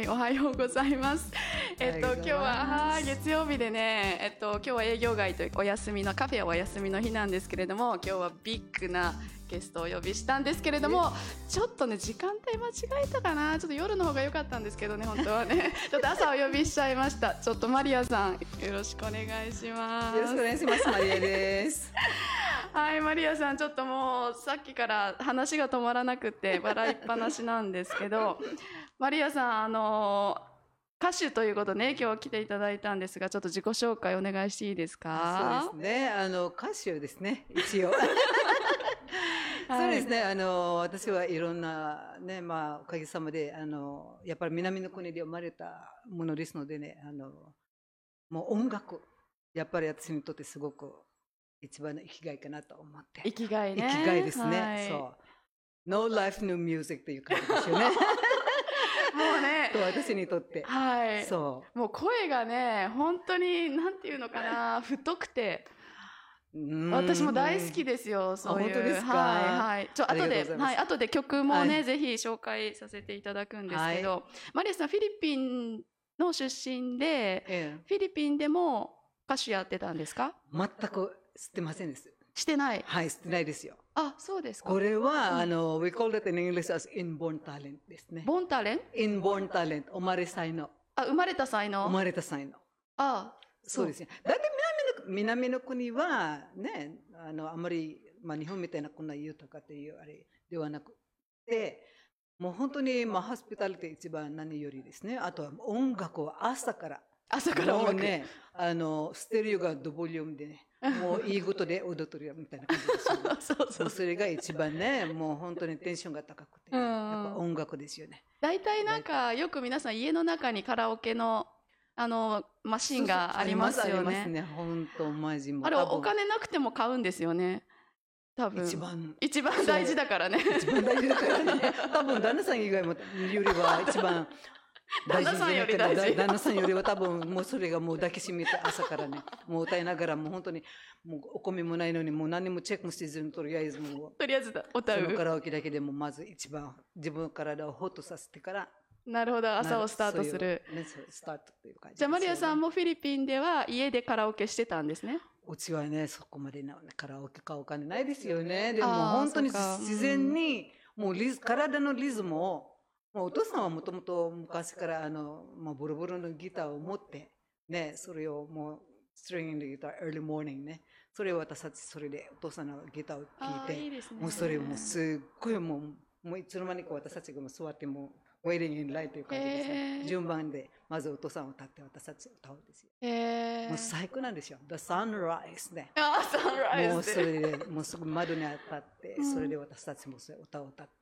、おはようございます。今日は月曜日でね、今日は営業外というお休みのカフェはお休みの日なんですけれども、今日はビッグなゲストをお呼びしたんですけれども、ちょっとね時間帯間違えたかな。ちょっと夜の方が良かったんですけどね、本当はね。ちょっと朝お呼びしちゃいました。ちょっとマリアさんよろしくお願いします。 よろしくお願いします。マリアです。 はい、マリアさん、ちょっともうさっきから話が止まらなくて笑いっぱなしなんですけど、マリアさん、歌手ということで、ね、今日来ていただいたんですが、ちょっと自己紹介お願いしていいですか？ そうですね、歌手ですね、一応。そうですね、私はいろんなね、まあおかげさまでやっぱり南の国で生まれたものですのでね、もう音楽やっぱり私にとってすごく一番の生きがいかなと思って。 生きがいね。 生きがいですね。 はい、 そう。No life, no music という感じですよね。もうね。 と私にとって。 はい。 そう。 もう声がね、本当になんていうのかな、太くて。私も大好きですよ。そういう。 本当ですか。 はいはい。後で曲もね、ぜひ紹介させていただくんですけど、マリアさんフィリピンの出身で、フィリピンでも歌手やってたんですか？ 全く知ってませんです。 してない。 はい、知ってないですよ。 あ、そうですか。 これはwe call it in English as inborn talent ですね。 born talent？ inborn talent、生まれ才能。 あ、生まれた才能。 生まれた才能。 あ、 そうですね。だって南の国はね、あんまり、まあ、日本みたいなこんな豊かというあれではなくて、もう本当に、まあ、ホスピタリティ一番何よりですね。あとは音楽を朝からもうね、ステレオがドボリュームでね、もういいことで踊ってるよみたいな感じですよね。そうそれが一番ね、もう本当にテンションが高くて、やっぱ音楽ですよね。 大体なんかよく皆さん家の中にカラオケのマシンがありますよね。 ありますね。本当マジも。 あれお金なくても買うんですよね。多分一番大事だからね。 一番大事だからね。多分旦那さん以外もよりは一番大事じゃないかな。旦那さんよりは多分もうそれがもう抱きしめて朝からね、もう歌いながらもう本当にもうお米もないのにもう何もチェックもせずにとりあえず歌う。 そのカラオケだけでもまず一番自分の体をホッとさせてから。 なるほど、朝をスタートする。 スタートという感じ。 じゃあマリアさんもフィリピンでは家でカラオケしてたんですね。 うちはね、そこまでカラオケ買うお金ないですよね。でも本当に自然にもう体のリズムを、もうお父さんはもともと昔からボロボロのギターを持ってね、それをもうストリングのギター early morning ね、それを私たちそれでお父さんのギターを聴いて、もうそれもすっごいもういつの間にか私たちがもう座ってもウェイティングインラインという感じですね。順番でまずお父さんを歌って私たち歌うんですよ。もう最高なんですよ。The Sunrise ね。もうそれでもうすぐ窓に当たって、それで私たちも歌を歌って。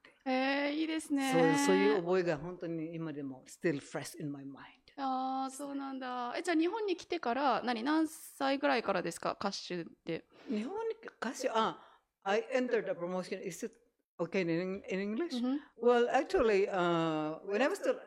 いいですね。 そういう覚えが本当に今でも still fresh in my mind。 ああ、そうなんだ。じゃあ日本に来てから何歳ぐらいからですか、歌手で。 日本に歌手I entered the promotion. Is it okay in English? Well, actually, when I was still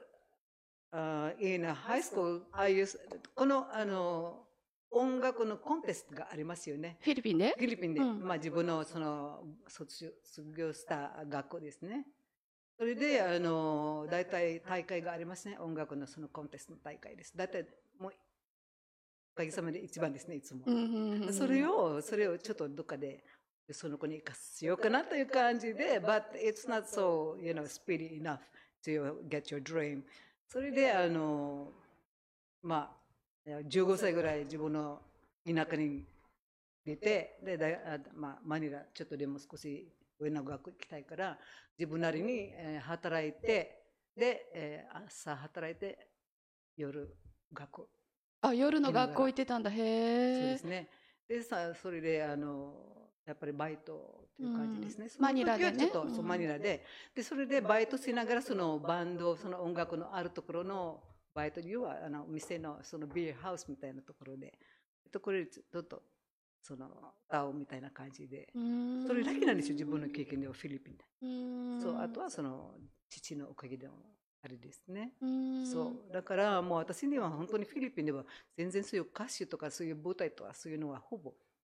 in high school, I used この音楽のコンテストがありますよね。 フィリピンで？ フィリピンで、まあ自分のその卒業した学校ですね。それで大体大会がありますね。音楽のそのコンテストの大会です。大体もうおかげさまで一番ですね、いつも。それをちょっとどっかでその子に生かしようかなという感じで、but it's not so, speedy enough to get your dream。それでまあ15歳ぐらい自分の田舎に出て、でマニラちょっとでも少し上の学校行きたいから自分なりに働いて、で朝働いて夜学校。 夜の学校行ってたんだ。へえ。 そうですね。でそれでやっぱりバイトという感じですね。 マニラでね。 マニラで、それでバイトしながらそのバンド、その音楽のあるところのバイトには店のそのビールハウスみたいなところで、これちょっとその歌うみたいな感じで、それだけなんですよ、自分の経験ではフィリピンで。そう、あとはその父のおかげであれですね。そうだからもう私には本当にフィリピンでは全然そういう歌手とかそういう舞台とかそういうのはほぼ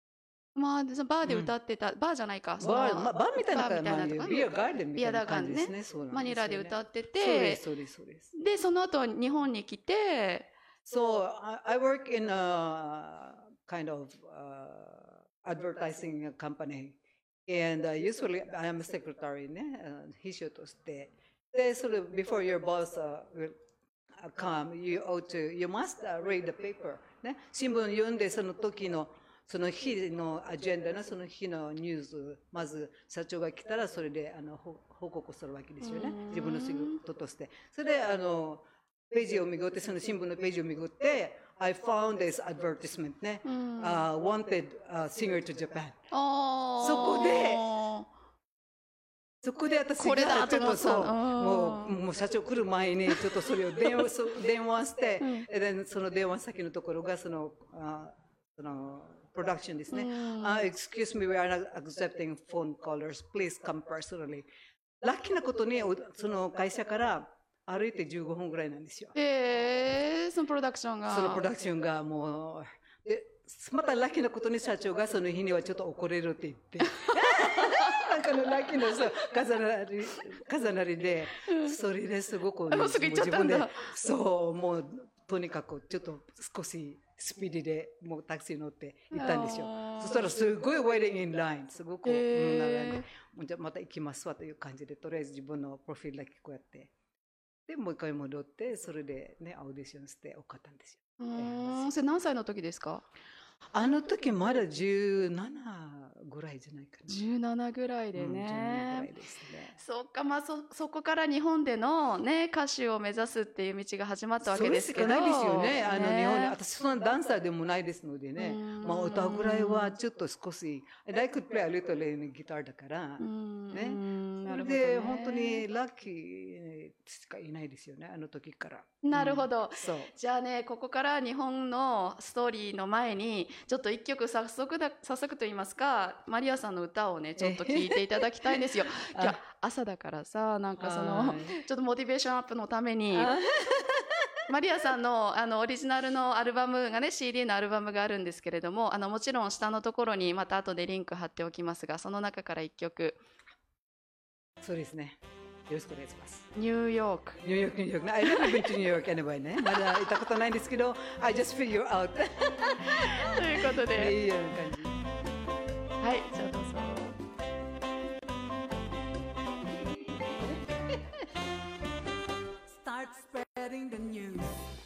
まあ、そのバーで歌ってた、バーじゃないか、 バーみたいなバーみたいなとこビアガーデンみたいなビアガーデンね感じですね。そうなんですよね。 マニラで歌ってそうでて、 す、そうです、そうです。 で、その後日本に来て、 So I work in a kind of advertising company, and usually I am a secretary ね、秘書として。で、それ before your boss will come, you must read the paper ね、新聞読んでその時のその日のアジェンダのその日のニュース、まず社長が来たらそれで報告するわけですよね。自分の仕事として。それでページをめぐって、その新聞のページをめぐって、I found this advertisement ね、wanted singer to Japan。そこで私がこれだと思ったそう、もう社長来る前にちょっとそれを電話して、でその電話先のところがそのプロダクションですね。Excuse me, we are not accepting phone callers. Please come personally. ラッキーなことにその会社から歩いて15分ぐらいなんですよ。 そのプロダクションがもうで、またラッキーなことに社長がその日にはちょっと怒れるって言って。なんかのラッキーの重なりで、それですごく、 すぐ行っちゃったんだ。 そう、もうとにかくちょっと少しスピーディーでもうタクシー乗って行ったんですよ。そしたらすごい waiting in line、すごく並んで、じゃあまた行きますわという感じで、とりあえず自分のプロフィールだけこうやって。で、もう一回戻って、それでね、オーディションして受かったんですよ。 それ何歳の時ですか？ あの時まだ17ぐらいじゃないかな。 17ぐらいでね。 17ぐらいですね。 そっか、まあそこから日本でのね、歌手を目指すっていう道が始まったわけですけど。 そうしかないですよね。日本で。私そんなダンサーでもないですのでね。まあ歌うぐらいはちょっと少し、I could play a little in guitar だから、ね。それで本当にラッキーしかいないですよね、あの時から。 なるほど。じゃあね、ここから日本のストーリーの前に、ちょっと一曲早速と言いますか、マリアさんの歌をね、ちょっと聴いていただきたいんですよ。今日朝だからさ、なんかちょっとモチベーションアップのために、マリアさんのオリジナルのアルバムがね、CD のアルバムがあるんですけれども、もちろん下のところにまた後でリンク貼っておきますが、その中から一曲。 そうですね。よろしくお願いします。 ニューヨーク。 I never been to New York anyway ね。まだ行ったことないんですけど、I just figure out ということで。 いいような感じ。 はい、じゃあどうぞ。 Start spreading the news.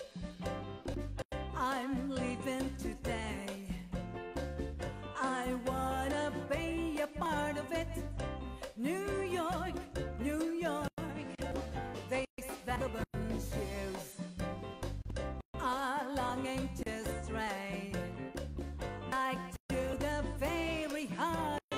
I'm leaving today. I wanna be a part of it. New York, New York. These vagabond shoes are longing to stray like to the very heart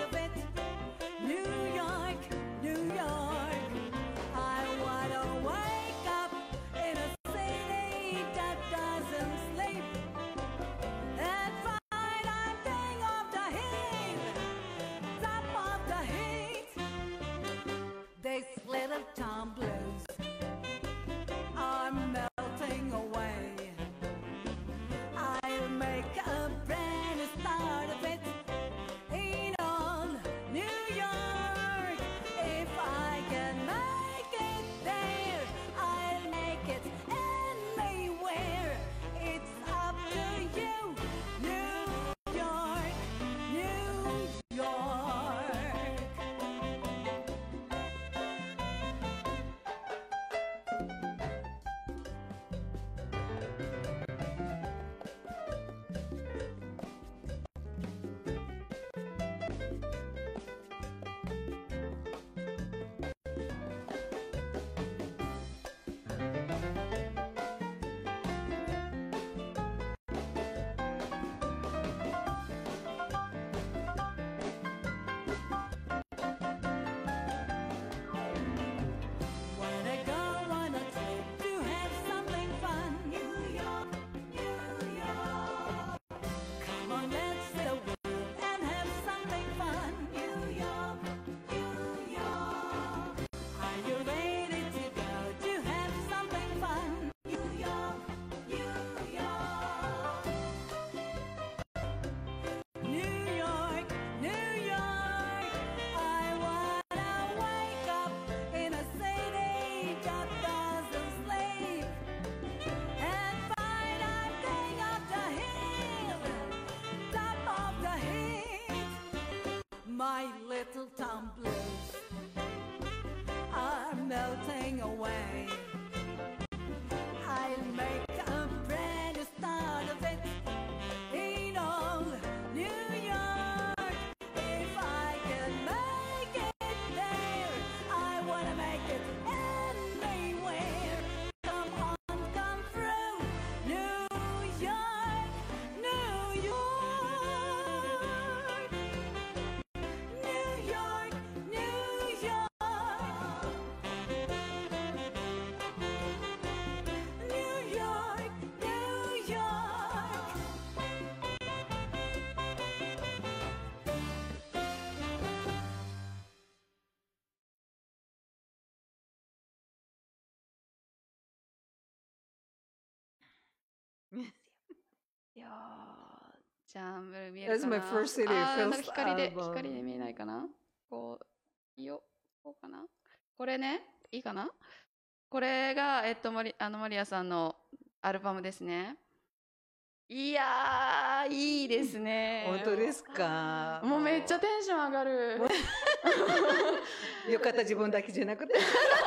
いやー、じゃあ見える That's か my な。 first CD, あー、なんか first 光で album. 見えないかな。こう、いいよ、こうかな。これね、いいかな。これがマリアさんのアルバムですね。いやー、いいですね。 本当ですか。 もうめっちゃテンション上がる。 よかった、自分だけじゃなくて。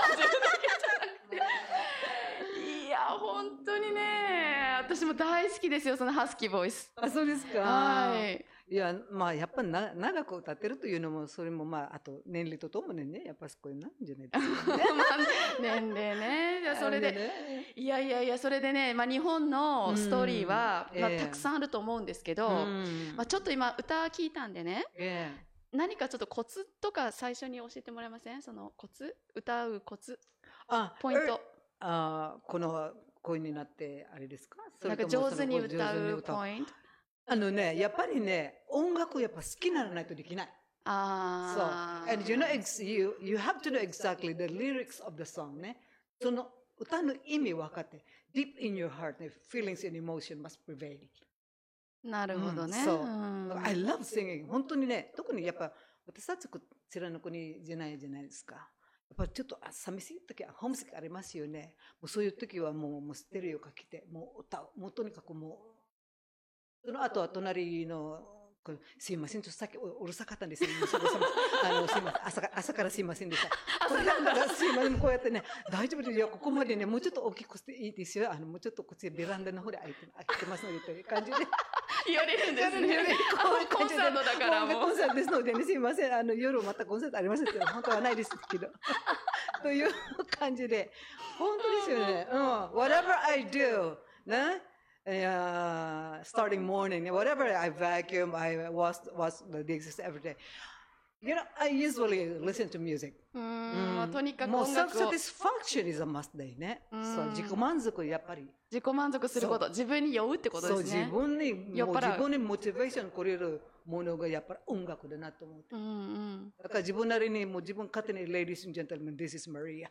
いや、本当にね、私も大好きですよ、そのハスキーボイス。 あ、そうですか。 はい。 いや、まあ、やっぱり長く歌ってるというのも、それもまあ、あと年齢とともにね、やっぱそこになるんじゃないですかね。 まあ年齢ね。じゃあそれで、 ね、 いや、それでね、まあ、日本のストーリーは、まあ、 ええたくさんあると思うんですけど、まあ、ちょっと今歌聞いたんでね、何かちょっとコツとか最初に教えてもらえません？そのコツ、歌うコツ、ポイント。 この声になってあれですか？ なんか上手に歌うポイント。 やっぱりね、音楽やっぱ好きにならないとできない。 ああ。そう。And you have to know exactly the lyrics of the song ね。その歌の意味分かって、deep in your heart, feelings and emotion must prevail。 なるほどね。 そう。I love singing。本当にね、特にやっぱ私たちこちらの国じゃないですか。やっぱちょっと寂しい時はホームシックありますよね。もうそういう時はもうステレオかけて、もう歌う。もうとにかくもう。その後は隣の、すいません、ちょっとさっきうるさかったんですよ。すいません、朝からすいませんでした。すいません、こうやってね、大丈夫ですよ、ここまでね、もうちょっと大きくしていいですよ。もうちょっとこっちベランダの方で開いてますので、という感じで。 言われるんですね。コンサートだからもう。 コンサートですのでね、すいません、夜またコンサートありますけど、本当はないですけど。という感じで、本当ですよね。Whatever I do, ね。starting morning, whatever I vacuum, I wash the dishes every day. You know, I usually listen to music. とにかくもう音楽を。 satisfaction is a must day ね。そう、自己満足やっぱり。 自己満足すること、自分に酔うってことですね。 そう、自分にモチベーションくれるものがやっぱり音楽だなと思って。だから自分なりにもう自分勝手に Ladies and Gentlemen, this is Maria.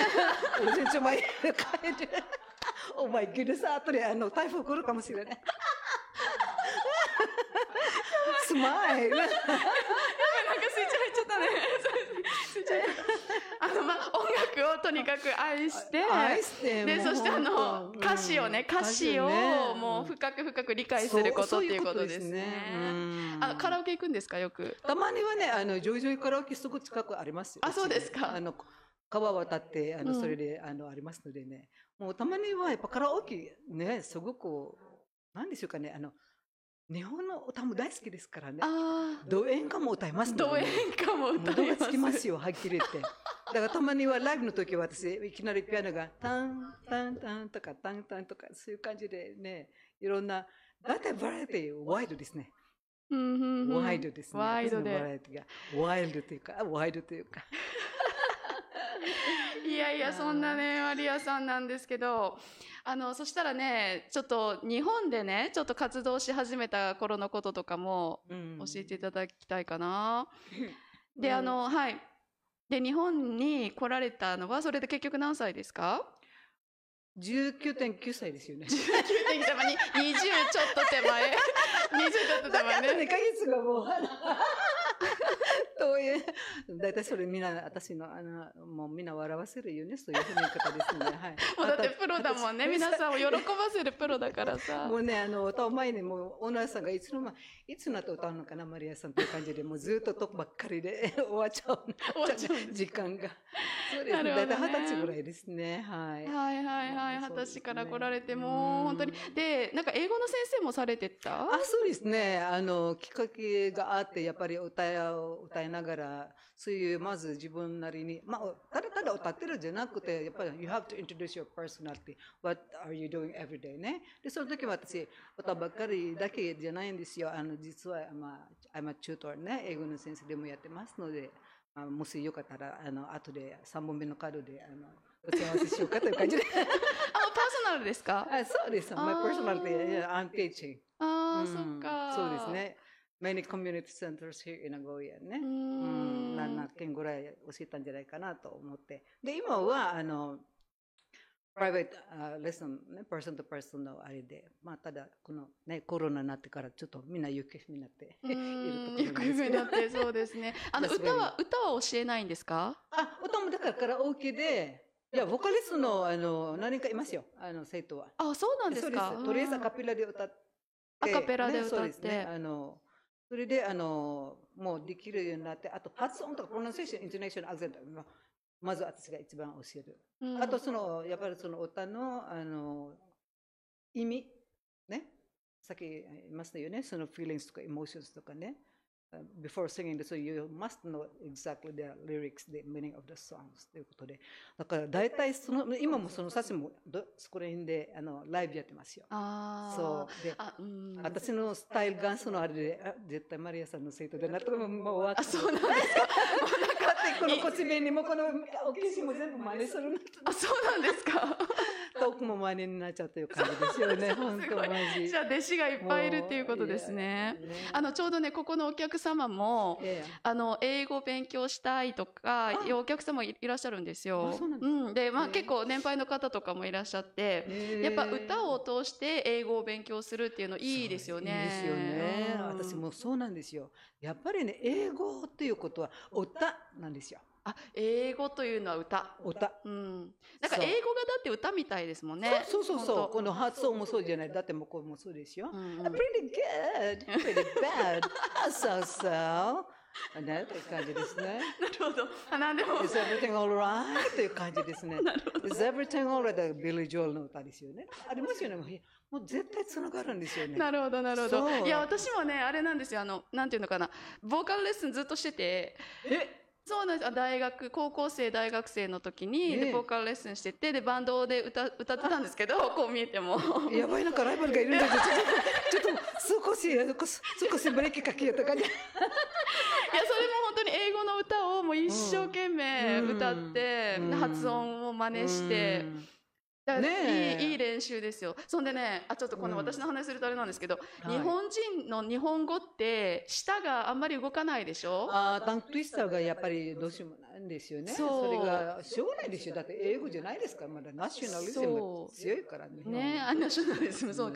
Listen to my Oh my goodness, 後で台風来るかもしれない。スマイル。なんかスイッチ入っちゃったね。スイッチ入っちゃった。 まあ、音楽をとにかく愛して、で、そして歌詞をもう深く理解することっていうことですね。カラオケ行くんですか、よく。 たまにはね、ジョイジョイカラオケすぐ近くありますよ。 あ、そうですか。 川渡って、それで、ありますのでね。もうたまにはやっぱカラオケね、すごく、なんでしょうかね、日本の歌も大好きですからね。ド演歌も歌いますので、 ド演歌も歌います。 つきますよ、はっきり言って。だからたまにはライブの時は私、いきなりピアノがタン、タン、タンとか、タン、タンとか、そういう感じでね、いろんな、だいたいバラエティワイドですね。ワイドですね。 ワイドで。 ワイルドというか、ワイドというか。 いや、そんなね、マリアさんなんですけど、そしたらね、ちょっと日本でね、ちょっと活動し始めた頃のこととかも教えていただきたいかな。で、はい。で、日本に来られたのは、それで結局何歳ですか ？19.9 歳ですよね。 19.9歳、20ちょっと手前。20ちょっと手前ね。 2ヶ月がもう。だいたいそれみんな、私の、もうみんな笑わせるよね、そういうふうな方ですね。はい。 もうだってプロだもんね、皆さんを喜ばせるプロだからさ。 もうね、歌う前にもう、オーナーさんがいつになって歌うのかな、マリアさんという感じで、もうずっとトップばっかりで終わっちゃう。時間が。そうですね。だいたい20歳ぐらいですね。はい。 20歳から来られても、本当に。で、なんか英語の先生もされてた？ そうですね。きっかけがあって、やっぱり歌いながら、そういうまず自分なりに、ただ歌ってるんじゃなくて、やっぱり you have to introduce your personality. What are you doing every day ね。で、その時は私、歌ばっかりだけじゃないんですよ。実は、I'm a tutor ね。英語の先生でもやってますので、もしよかったら、後で3本目のカードで、お世話合わせしようかという感じで。 パーソナルですか？ そうです。My personality, I'm teaching. そっか。 そうですね。Many community centers here in Nagoya ね。7件ぐらい教えたんじゃないかなと思って。で、今は、 プライベートレッスン、ね、パーソンとパーソンのあれで、まあ、ただこの、ね、コロナになってからちょっとみんな行方不明になっているところなんです行方不明になってそうですね。歌は教えないんですか？ 歌もだからカラオケで、いや、ボーカリストの、何人かいますよ、生徒は。 そうなんですか。 そうです。とりあえずアカペラで歌って。 アカペラで歌って。 そうですね。それで、もうできるようになって、あと発音とかプロナンセーション、イントネーション、アクセント、まず私が一番教える。あと、やっぱりその歌の、意味、ね。さっき言いましたよね。その feelings とか emotions とかね。before singing, so you must know exactly the lyrics, the meaning of the songs ということで。だから大体今もその写真もそこら辺でライブやってますよ。そうで、私のスタイルがそのあれで、絶対マリアさんの生徒でなったらもう終わって。 そうなんですか。 このこち弁にもこのお化粧も全部真似する。 そうなんですか。 トークも真似になっちゃうという感じですよね。本当マジ。 じゃあ弟子がいっぱいいるっていうことですね。ちょうどねここのお客様も英語勉強したいとかいうお客様いらっしゃるんですよ。で結構年配の方とかもいらっしゃって、やっぱ歌を通して英語を勉強するっていうのいいですよね。 いいですよね。私もそうなんですよ。やっぱりね英語っていうことは歌なんですよ。 英語というのは歌。なんか英語がだって歌みたいですもんね。 そう。この発音もそうじゃない。だってもこれもそうですよ。Pretty good, pretty bad, so. ね、という感じですね。 なるほど。なんでも。 Is everything alright? という感じですね。Is everything alright? ビリー・ジョエルの歌ですよね。ありますよね。もう絶対つながるんですよね。 なるほど。いや、私もね、あれなんですよ。なんていうのかな。ボーカルレッスンずっとしてて。そうなんです。高校生、大学生の時に、ボーカルレッスンしてて、で、バンドで歌ってたんですけど、こう見えても。 やばい、なんかライバルがいるんだけど、ちょっと少しブレーキかけようとかね。 いや、それも本当に英語の歌をもう一生懸命歌って、発音を真似して、いい練習ですよ。そんでね、ちょっとこの私の話するとあれなんですけど、日本人の日本語って舌があんまり動かないでしょ？ タンクトゥイスターがやっぱりどうしようもないんですよね。それがしょうがないでしょ。だって英語じゃないですから、まだナショナリズム強いからね。 ナショナリズム、そう。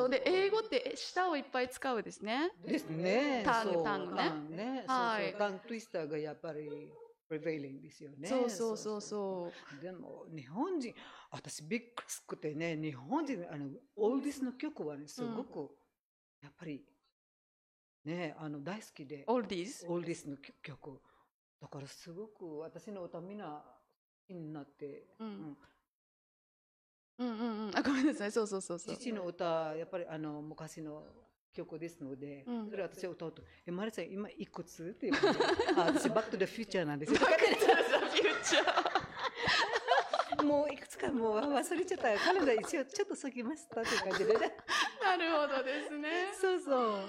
で、英語って舌をいっぱい使うですね。 ですね。 タングね。 タンクトゥイスターがやっぱりprevailing ですよね。 そう。 でも日本人、私びっくりてね、日本人オールディスの曲はねすごくやっぱりね大好きで。 オールディスの曲だからすごく私の歌みんな好きになって。 ごめんなさい。そう。 父の歌やっぱり昔の曲ですので、それ私を歌うと「マリさん今いくつ?」って言われて「私バックトゥザフューチャーなんですよ」もういくつかもう忘れちゃった。カレンダー一応ちょっと過ぎましたっていう感じでね。 なるほどですね。 そう。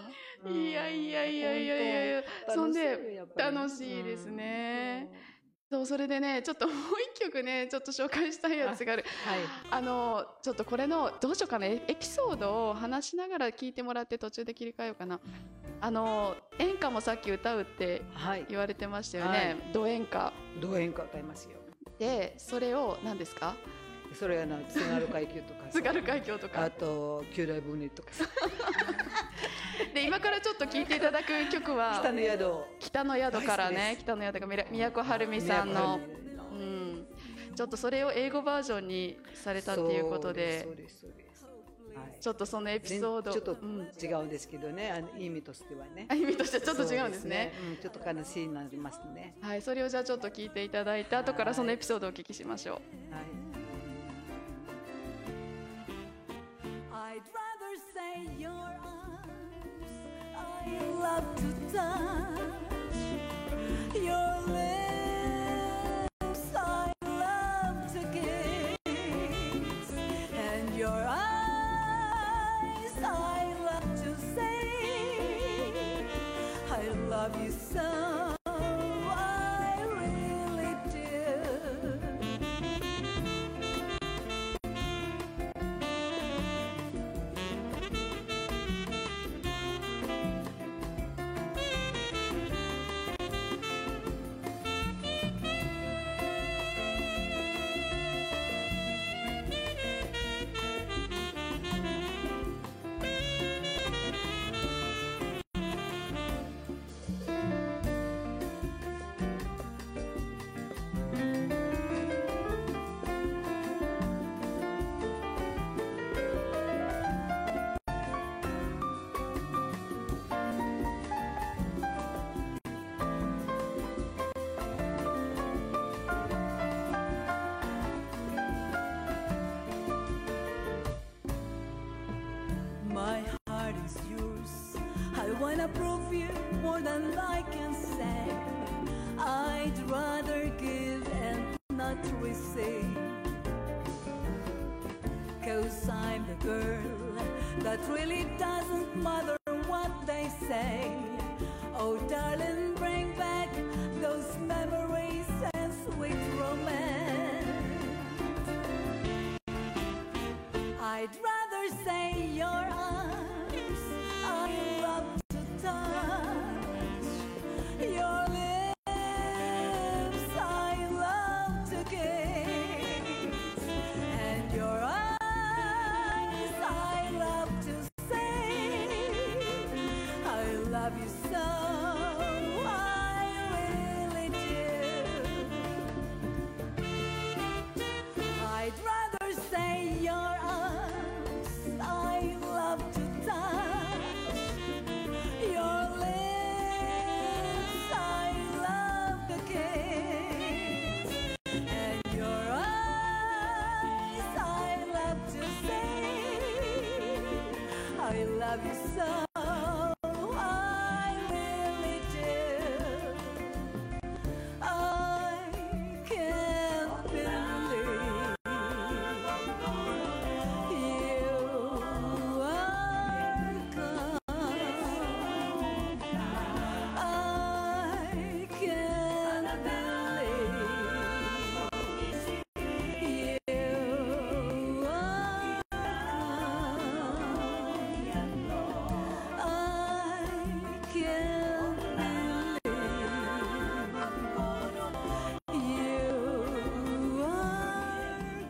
いや。そんで楽しいですね。それでね、ちょっともう一曲ね、ちょっと紹介したいやつがある。ちょっとこれのどうしようかな、エピソードを話しながら聞いてもらって途中で切り替えようかな。演歌もさっき歌うって言われてましたよね。ド演歌歌いますよ。 で、それを何ですか？ それは津軽海峡とか。 津軽海峡とか。 あと九大船とか。 で今からちょっと聴いていただく曲は北の宿からね、北の宿が都はるみさんの、ちょっとそれを英語バージョンにされたっていうことで、ちょっとそのエピソードちょっと違うんですけどね、意味としてはね。 意味としてはちょっと違うんですね。 ちょっと悲しいになりますね。 はい、それをじゃあちょっと聞いていただいた後からそのエピソードをお聞きしましょう。 I'd rather say your arms I love to touch, your lips I love to kiss, and your eyes I love to say I love you so, I really do. wanna prove you more than I can say. I'd rather give and not receive. 'Cause I'm the girl that really doesn't matter what they say. Oh darling, bring back those memories and sweet romance. I'd rather say your arms I love to touch, your lips I love to kiss, and your eyes I love to say, I love you so, I really do. I'd rather say your arms I love to touch, your lips I love to kiss, and your eyes I love to say, I love you so, I really do. I can't believe you are gone. I can't believe you are gone. I can't believe you are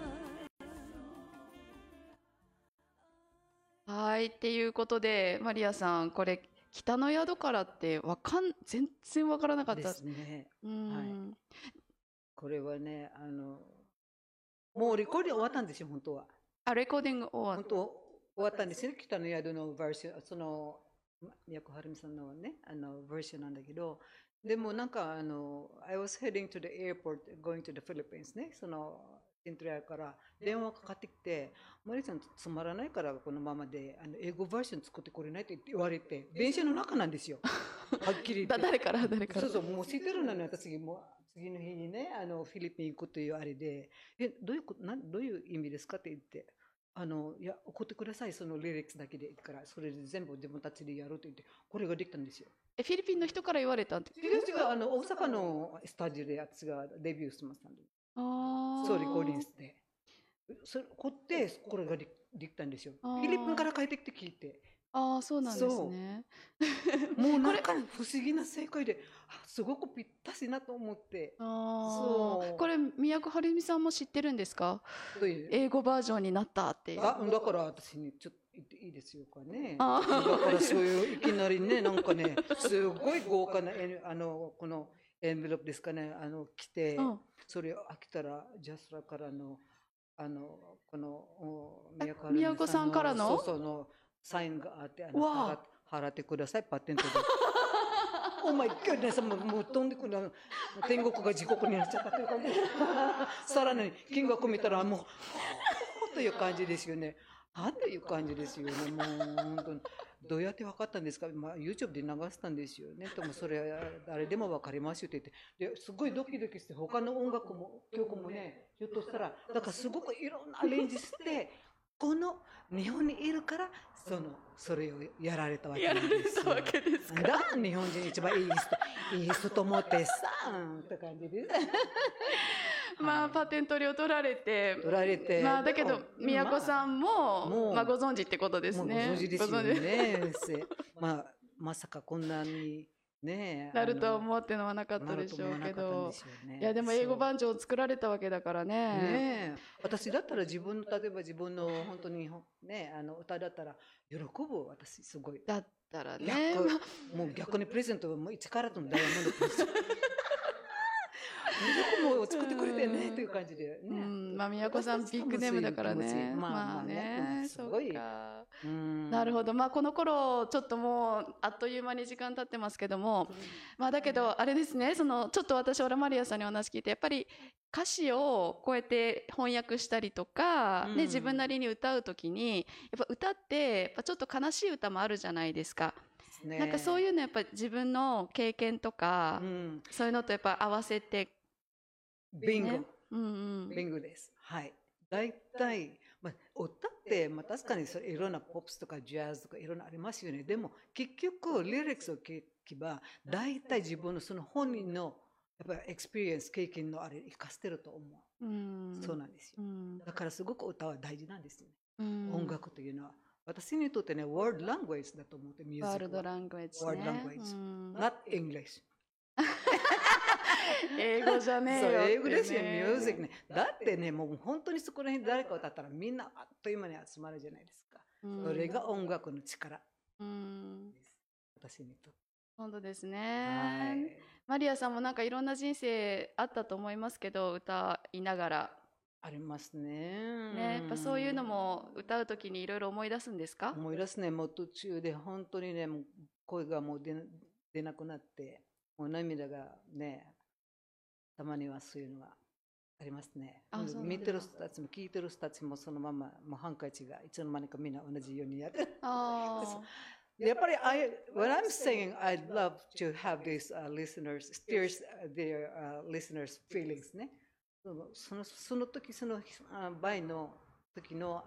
gone. はい、っていうことで、マリアさん、これ、北の宿からって全然わからなかっでた。 すね。 うん。 これはね、もうレコーディング終わったんですよ、本当は。 あ、レコーディング終わっ本当終わったんですよ、北の宿のバージョン、その、宮古はるみさんのね、バージョンなんだけど、でもなんか、I was heading to the airport, going to the Philippines ね、その、セントリアから電話かかってきて、マリさんつまらないからこのままで、英語バージョン作ってこれないって言われて、電車の中なんですよ。はっきり言って。 誰からそうそう、もう知ってるのに私も次の日にね、フィリピン行くというあれで、どういう意味ですかって言って、いや、送ってください、そのリリックスだけでいいから、それで全部自分たちでやろうと言って、これができたんですよ。 フィリピンの人から言われたんで。 私が大阪のスタジオで私がデビューしてましたんで、 あそう、レコーディングして。それ、こってこれができたんですよ。フあーィリピンから帰ってきて聞いて。 あー、そうなんですね。 もうなんか不思議な正解で、すごくぴったしなと思って。そうこれ、宮古はるみさんも知ってるんですか？ どういう英語バージョンになったっていう。 だから私にちょっと言っていいですよかね。 あだからそういういきなりね、なんかね、すごい豪華なこのエンベロープですかね、来て、 うんそれを開けたら、ジャスラからの、この、 宮古さんからのそうのサインがあって、 わ払ってください、パテントで。お前、今日ね、もう飛んでくる、天国が地獄になっちゃったという感じで。さらに、金額見たら、もう、という感じですよね。という感じですよね。もう、本当に。どうやって分かったんですか、YouTube で流したんですよね。でもそれ誰でも分かりますよって言って、ですごいドキドキして、他の音楽も曲もね、ひょっとしたら、だからすごくいろんなアレンジして、この日本にいるから、それをやられたわけなんですよ。 やられたわけですか。 だ日本人一番いい人と思ってさ、って感じです。 まあ、パテント料取られて。まあ、だけど、宮古さんも、まあ、ご存知ってことですね。 ご存知ですよね。まさかこんなにね。 なると思ってのはなかったでしょうけど。いや、でも英語バージョンを作られたわけだからね。 ねえ。私だったら例えば自分の本当にね、歌だったら喜ぶ、私すごい。 だったらね。 もう逆にプレゼントはもう1カラットのダイヤモンドプレゼント。もう作ってくれてねという感じでね。 まあ、宮古さんビッグネームだからね。まあね、そうか。なるほど。まあ、この頃、ちょっともう、あっという間に時間経ってますけども、まあ、だけど、あれですね、ちょっと私、オラマリアさんにお話聞いて、やっぱり歌詞をこうやって翻訳したりとか、ね、自分なりに歌うときに、やっぱ歌って、ちょっと悲しい歌もあるじゃないですか。 ですね。 なんかそういうのやっぱり自分の経験とか、そういうのとやっぱ合わせて、 ビンゴ、 ね、 ビンゴです。はい。大体、歌って、確かにいろんなポップスとかジャズとかいろんなありますよね。でも結局リリックスを聞けば大体自分のその本人のやっぱりエクスペリエンス経験のあれ生かしてると思う。そうなんですよ。だからすごく歌は大事なんですよね。音楽というのは。私にとってね、ワールドラングエッジだと思って、ミュージックは。 ワールドラングエッジね。 ワールドラングエッジ。not English。 英語じゃねえよ、ね。 そう、英語ですよ、ミュージックね。だってね、もう本当にそこら辺誰か歌ったらみんなあっという間に集まるじゃないですか。それが音楽の力。私にとって。 本当ですね。マリアさんもなんかいろんな人生あったと思いますけど、歌いながら。 ありますね。 ね、やっぱそういうのも歌うときにいろいろ思い出すんですか？ 思い出すね。もう途中で本当にね、もう声がもう出なくなって、もう涙がね、たまにはそういうのがありますね。見てる人たちも聞いてる人たちもそのまま、もうハンカチがいつの間にかみんな同じようにやってる。やっぱりwhen I'm saying I'd love to have these listeners, steers their listeners' feelings ね。その時、その場合の時の、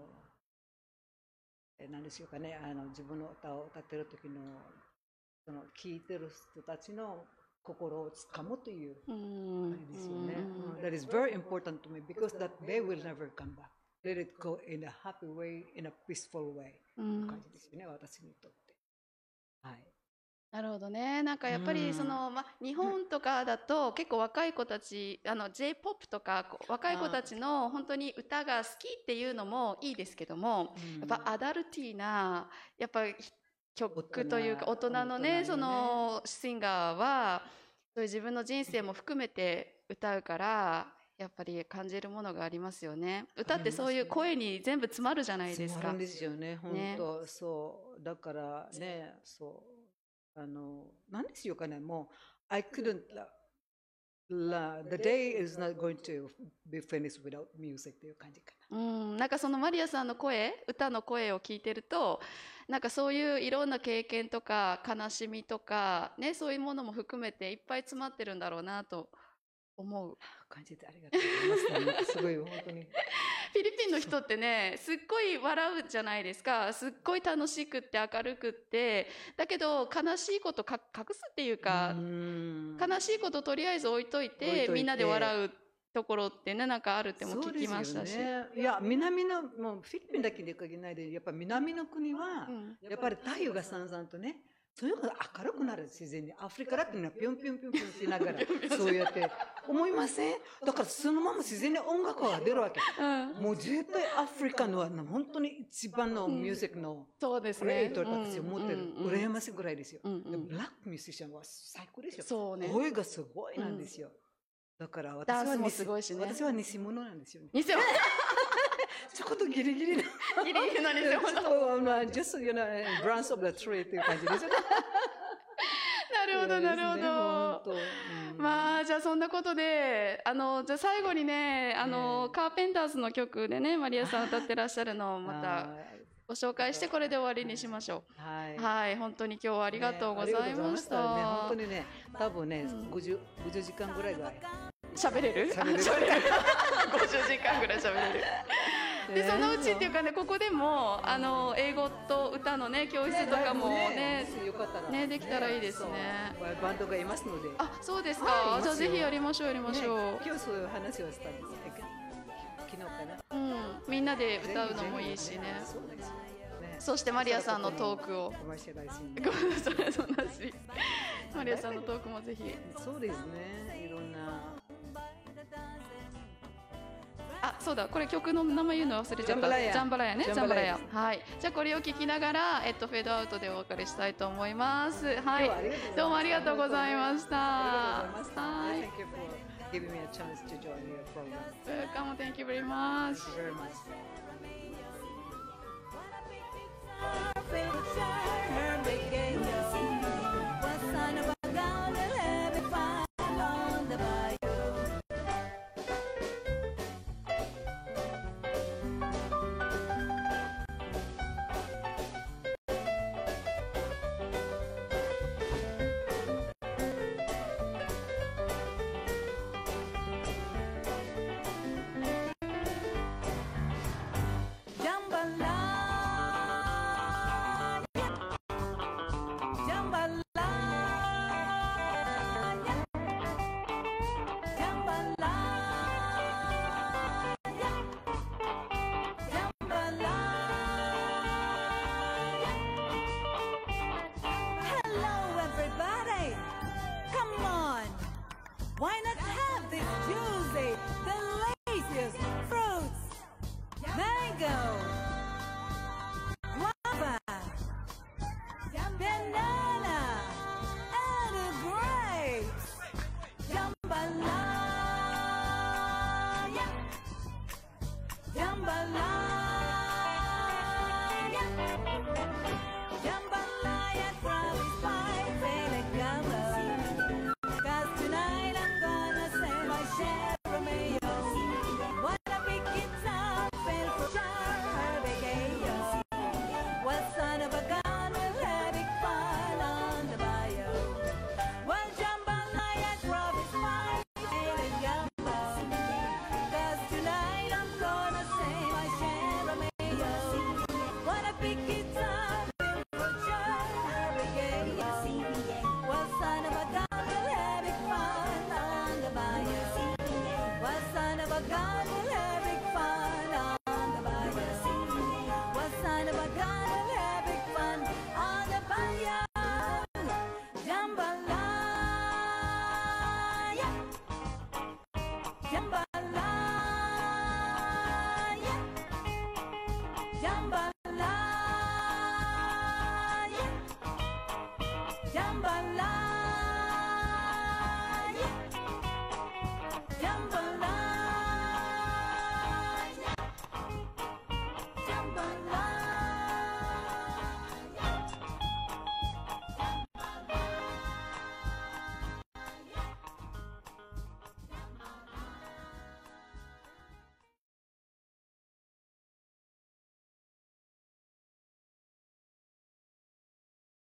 何でしょうかね、自分の歌を歌ってる時の、その聴いてる人たちの心をつかむという感じですよね。That is very important to me because that they will never come back. Let it go in a happy way, in a peaceful way. 感じですよね、私にとって。はい。 なるほどね。なんかやっぱりその、日本とかだと結構若い子たち、J-POP とか若い子たちの本当に歌が好きっていうのもいいですけども、やっぱアダルティーな、やっぱ曲というか大人のね、そのシンガーは、そういう自分の人生も含めて歌うから、やっぱり感じるものがありますよね。歌ってそういう声に全部詰まるじゃないですか。 詰まるんですよね、本当、そう。だからね、そう。何でしょうかね、もう、I couldn't, the day is not going to be finished without music っていう感じかな。 なんかそのマリアさんの声、歌の声を聞いてると、なんかそういういろんな経験とか悲しみとか、ね、そういうものも含めていっぱい詰まってるんだろうなと思う。 感じてありがとうございます。すごい、本当に。 フィリピンの人ってね、すっごい笑うじゃないですか。すっごい楽しくって明るくって、だけど悲しいこと隠すっていうか、悲しいこととりあえず置いといて、みんなで笑うところってね、なんかあるっても聞きましたし。 いや、南の、もうフィリピンだけで限らないで、やっぱ南の国は、やっぱり太陽がさんさんとね、そういうのが明るくなる、自然に。アフリカだっていうのはピョンピョンピョンピョンしながら、そうやって思いません？だからそのまま自然に音楽が出るわけ。もう絶対アフリカのは本当に一番のミュージックのクリエイターたちを持ってる。羨ましいぐらいですよ。でもブラックミュージシャンは最高ですよ。 そうね。 声がすごいなんですよ。だから私はもすごいしね。 私は偽物なんですよね。 偽物ちょっとギリギリな。 ギリギリな偽物。 just, you know, branch of the tree っていう感じですよ。 なるほど、なるほど。まあ、じゃあそんなことで、じゃあ最後にね、カーペンターズの曲でね、マリアさん歌ってらっしゃるのをまたご紹介して、これで終わりにしましょう。はい。本当に今日はありがとうございました。 本当にね、多分ね、50時間ぐらいが。 喋れる？50時間ぐらい喋れる。でそのうちっていうかね、ここでも英語と歌のね教室とかもねできたらいいですね。 バンドがいますので。 あ、そうですか。じゃあぜひやりましょうやりましょう。 今日そういう話をしたんです。昨日かな。 みんなで歌うのもいいしね。そしてマリアさんのトークを。ごめんなさい、そんなし。マリアさんのトークもぜひ。 そうですね。いろんな。 あ、そうだ、これ曲の名前言うの忘れちゃった。ジャンバラヤね、ジャンバラヤ。はい。じゃあこれを聞きながら、フェードアウトでお別れしたいと思います。はい。どうもありがとうございました。はい。 Giving me a chance to join your program. Welcome, thank you very much. Thank you very much. samba la